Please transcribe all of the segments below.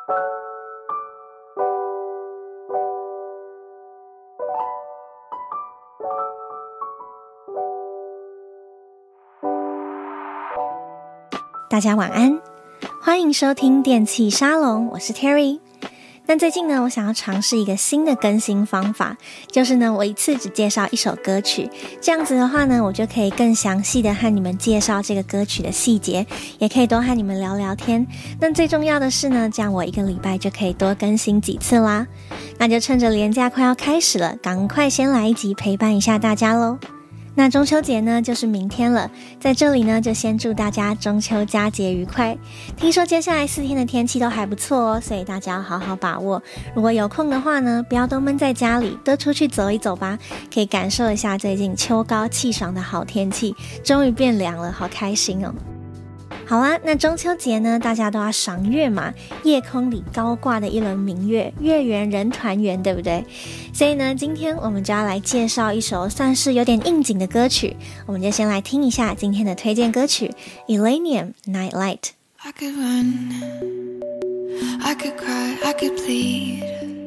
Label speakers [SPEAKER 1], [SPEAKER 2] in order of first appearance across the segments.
[SPEAKER 1] 大家晚安，歡迎收聽電器沙龍，我是 Terry。那最近呢，我想要嘗試一個新的更新方法，就是呢，我一次只介紹一首歌曲，這樣子的話呢，我就可以更詳細的和你們介紹這個歌曲的細節，也可以多和你們聊聊天。那最重要的是呢，這樣我一個禮拜就可以多更新幾次啦。那就趁着連假快要開始了，趕快先來一集陪伴一下大家咯。那中秋節呢，就是明天了，在這裡呢，就先祝大家中秋佳節愉快。聽說接下來4天的天氣都還不錯哦，所以大家要好好把握。如果有空的話呢，不要都悶在家裡，多出去走一走吧，可以感受一下最近秋高氣爽的好天氣，終於變涼了，好開心哦。好啦，那中秋節呢，大家都要賞月嘛，夜空裡高掛的一輪明月，月圓人團圓，對不對？所以呢，今天我們就要來介紹一首算是有點應景的歌曲，我們就先來聽一下今天的推薦歌曲 Illenium Nightlight。
[SPEAKER 2] I could run, I could cry, I could plead,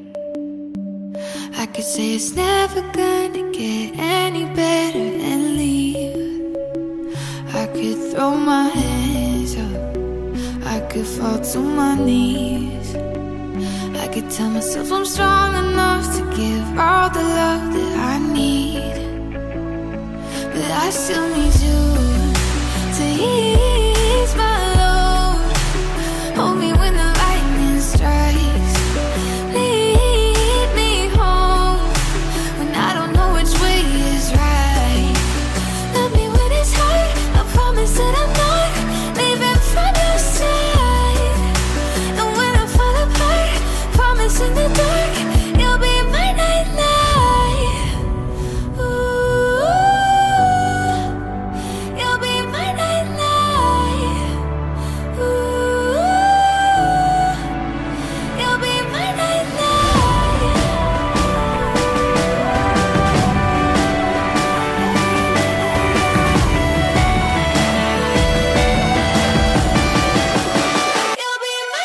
[SPEAKER 2] I could say it's never gonna get any better and leave. I could throw my hands up, I could fall to my knees, I could tell myself I'm strong enough to give all the love that I need, but I still need you to ease my load. Hold me when the lightning strikes, lead me home when I don't know which way is right. Love me when it's hard, I promise that I'm not leaving from your side. And when I fall apart, promise in the dark you'll be my nightlight. Ooh, you'll be my nightlight. Ooh, you'll be my nightlight. You'll be my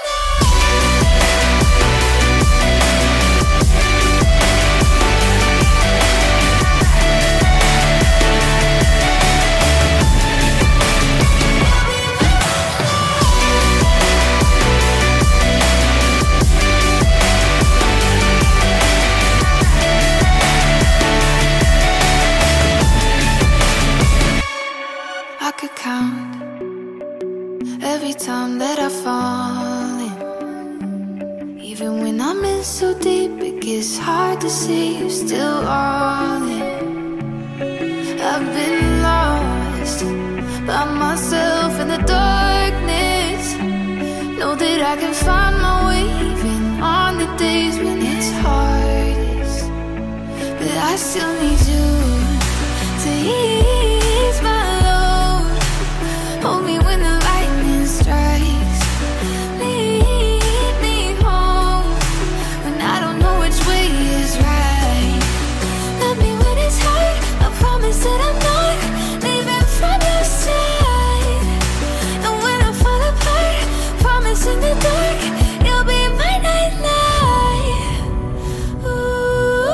[SPEAKER 2] I could count every time that I fall in. Even when I'm in so deep, it gets hard to see you're still all in. I've been lost by myself in the darkness. Know that I can find my way even on the days when it's hardest. But I still need you to ease my load. Hold me when the lightning strikes, lead me home when I don't know which way is right. Love me when it's hard, I promise that I'm not leaving from your side. And when I fall apart, promise in the dark you'll be my nightlight. Ooh,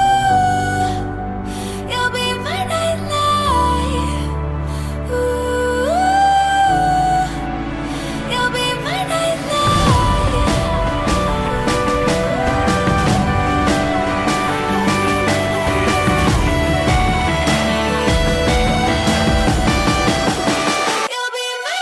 [SPEAKER 2] you'll be my nightlight. Ooh, you'll be my nightlight. You'll be my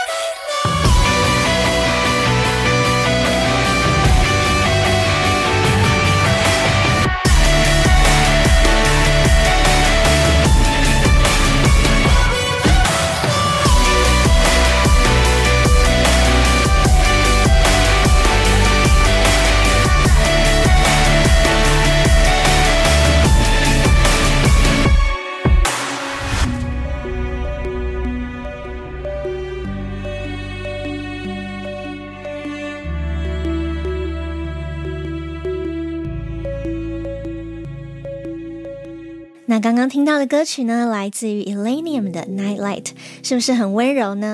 [SPEAKER 1] 那刚剛聽到的歌曲呢，來自於 Illenium 的 Nightlight， 是不是很溫柔呢？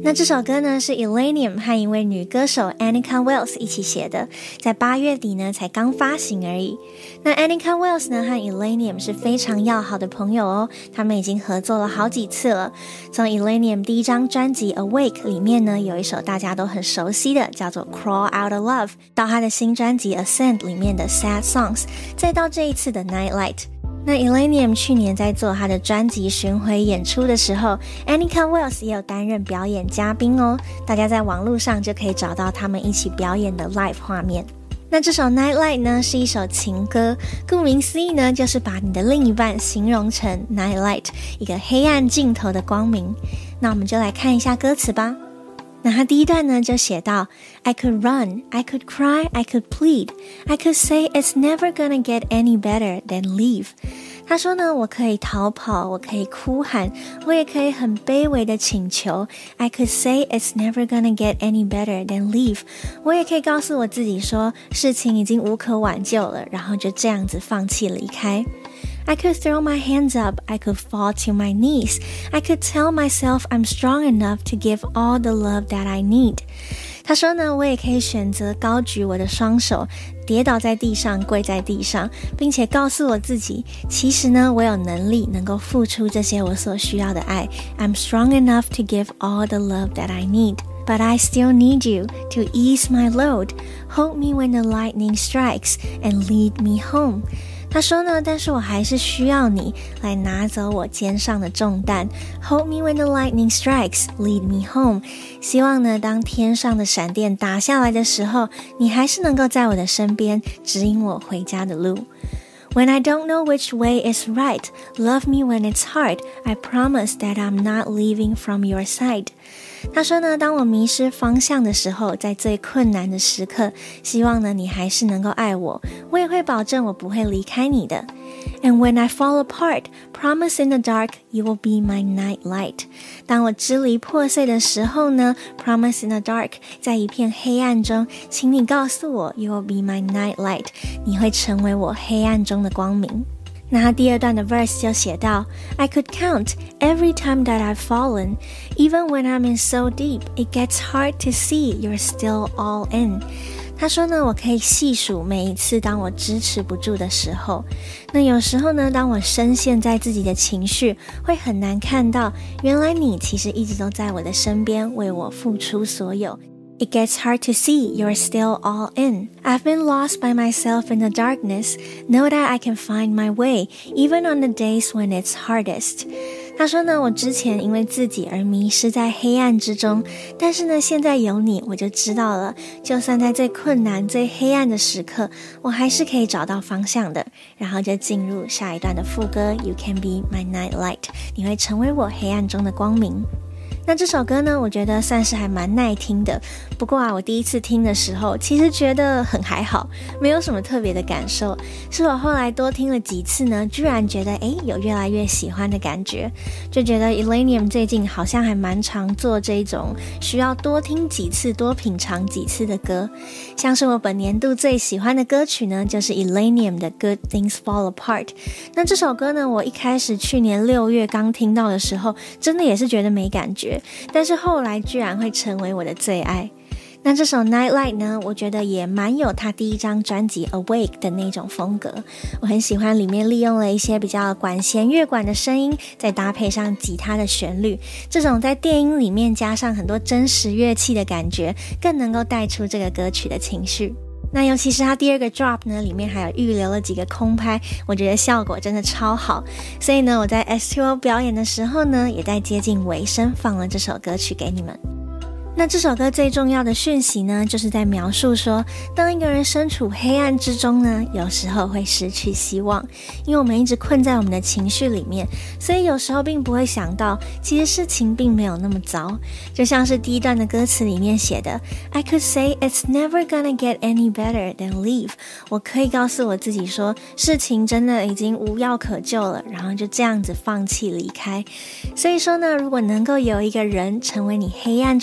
[SPEAKER 1] 那這首歌呢是 Illenium 和一位女歌手 Annika Wells 一起寫的，在8月底呢才剛發行而已。那 Annika Wells 呢和 Illenium 是非常要好的朋友哦，他們已經合作了好幾次了。從 Illenium 第一張專輯 Awake 裡面呢有一首大家都很熟悉的叫做 Crawl Out of Love， 到他的新專輯 Ascend 裡面的 Sad Songs， 再到這一次的 Nightlight。那 Illenium 去年在做他的專輯巡迴演出的時候， Annika Wells 也有擔任表演嘉賓哦，大家在網絡上就可以找到他們一起表演的 live 畫面。那這首 Nightlight 呢是一首情歌，顧名思義呢就是把你的另一半形容成 Nightlight， 一個黑暗盡頭的光明。那我們就來看一下歌詞吧。那他第一段呢就寫到 I could run, I could cry, I could plead, I could say it's never gonna get any better than leave。 他說呢，我可以逃跑，我可以哭喊，我也可以很卑微的請求。 I could say it's never gonna get any better than leave。 我也可以告訴我自己說事情已經無可挽救了，然後就這樣子放棄離開。I could throw my hands up, I could fall to my knees, I could tell myself I'm strong enough to give all the love that I need。 他說呢，我也可以選擇高舉我的雙手，跌倒在地上，跪在地上，並且告訴我自己，其實呢，我有能力能夠付出這些我所需要的愛。I'm strong enough to give all the love that I need.But I still need you to ease my load, hold me when the lightning strikes, and lead me home。 他說呢，但是我還是需要你來拿走我肩上的重擔。 Hold me when the lightning strikes, lead me home。 希望呢，當天上的閃電打下來的時候，你還是能夠在我的身邊，指引我回家的路。When I don't know which way is right, love me when it's hard, I promise that I'm not leaving from your side。 他說呢，當我迷失方向的時候，在最困難的時刻，希望呢，你還是能夠愛我，我也會保證我不會離開你的。And when I fall apart, promise in the dark, you will be my night light。 當我支離破碎的時候呢， promise in the dark， 在一片黑暗中，請你告訴我 you will be my night light， 你會成為我黑暗中的光明。那他第二段的 verse 就寫到 I could count every time that I've fallen, even when I'm in so deep, it gets hard to see you're still all in。 他說呢，我可以細數每一次當我支持不住的時候。那有時候呢，當我深陷在自己的情緒，會很難看到，原來你其實一直都在我的身邊，為我付出所有。It gets hard to see you're still all in. I've been lost by myself in the darkness. Know that I can find my way, even on the days when it's hardest. 他說呢，我之前因為自己而迷失在黑暗之中，但是呢，現在有你，我就知道了，就算在最困難、最黑暗的時刻，我還是可以找到方向的。然後就進入下一段的副歌 You can be my night light. 你會成為我黑暗中的光明。那這首歌呢，我覺得算是還蠻耐聽的。不過啊，我第一次聽的時候，其實覺得很還好，沒有什麼特別的感受。是我後來多聽了幾次呢，居然覺得有越來越喜歡的感覺。就覺得 Illenium 最近好像還蠻常做這種需要多聽幾次、多品嘗幾次的歌。像是我本年度最喜歡的歌曲呢，就是 Illenium 的 Good Things Fall Apart。那這首歌呢，我一開始去年6月剛聽到的時候，真的也是覺得沒感覺。但是後來居然會成為我的最愛。那這首 Nightlight 呢，我覺得也蠻有他第一張專輯 Awake 的那種風格。我很喜歡裡面利用了一些比較管弦樂管的聲音，再搭配上吉他的旋律，這種在電音裡面加上很多真實樂器的感覺，更能夠帶出這個歌曲的情緒。那尤其是他第二個 drop 呢，裡面還有預留了幾個空拍，我覺得效果真的超好。所以呢，我在 S2O 表演的時候呢，也在接近尾聲放了這首歌曲給你們。那這首歌最重要的訊息呢，就是在描述說，當一個人身處黑暗之中呢，有時候會失去希望，因為我們一直困在我們的情緒裡面，所以有時候並不會想到，其實事情並沒有那麼糟。就像是第一段的歌詞裡面寫的 I could say it's never gonna get any better than leave。 我可以告訴我自己說，事情真的已經無藥可救了，然後就這樣子放棄離開。所以說呢，如果能夠有一個人成為你黑暗中的光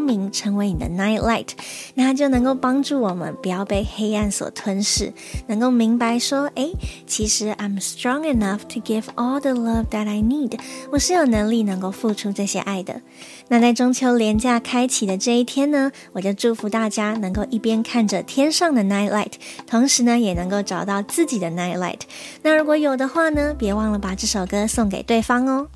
[SPEAKER 1] 明，成為你的 night light， 那它就能夠幫助我們不要被黑暗所吞噬，能夠明白說，其實 I'm strong enough to give all the love that I need， 我是有能力能夠付出這些愛的。那在中秋連假開啟的這一天呢，我就祝福大家能夠一邊看着天上的 night light， 同時呢也能夠找到自己的 night light。那如果有的話呢，別忘了把這首歌送給對方哦。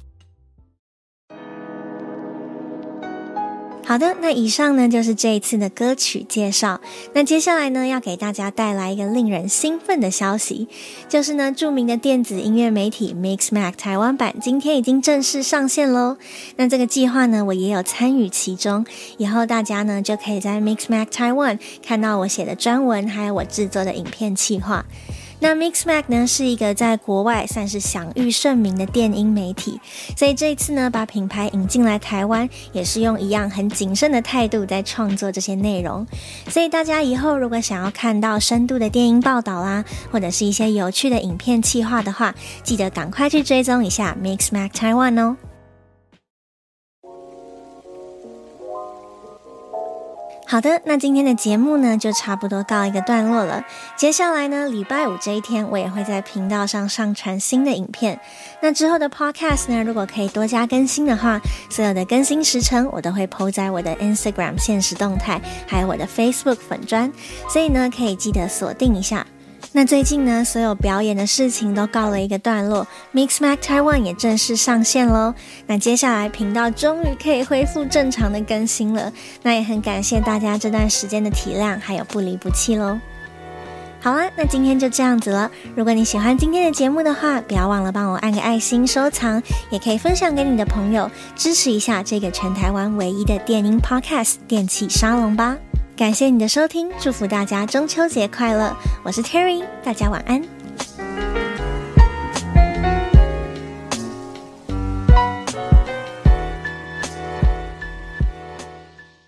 [SPEAKER 1] 好的，那以上呢就是這一次的歌曲介紹。那接下來呢，要給大家帶來一個令人興奮的消息，就是呢，著名的電子音樂媒體 Mixmag 台灣版今天已經正式上線咯。那這個計劃呢，我也有參與其中，以後大家呢就可以在 Mixmag Taiwan 看到我寫的專文，還有我製作的影片企劃。那 Mixmag 呢是一個在國外算是享譽盛名的電音媒體，所以這一次呢把品牌引進來台灣，也是用一樣很謹慎的態度在創作這些內容。所以大家以後如果想要看到深度的電音報道啦，或者是一些有趣的影片企劃的話，記得趕快去追蹤一下 Mixmag Taiwan 哦。好的，那今天的節目呢就差不多告一個段落了。接下來呢，禮拜五這一天我也會在頻道上上傳新的影片。那之後的 podcast 呢，如果可以多加更新的話，所有的更新時程我都會 po 在我的 Instagram 限時動態，還有我的 Facebook 粉專，所以呢可以記得鎖定一下。那最近呢，所有表演的事情都告了一個段落， Mixmag Taiwan 也正式上線咯。那接下來頻道終於可以恢復正常的更新了，那也很感謝大家這段時間的體諒還有不離不棄咯。好啦，那今天就這樣子了。如果你喜歡今天的節目的話，不要忘了幫我按個愛心收藏，也可以分享給你的朋友，支持一下這個全台灣唯一的電音 podcast 電器沙龍吧。感謝你的收聽，祝福大家中秋節快樂！我是 Terry，大家晚安。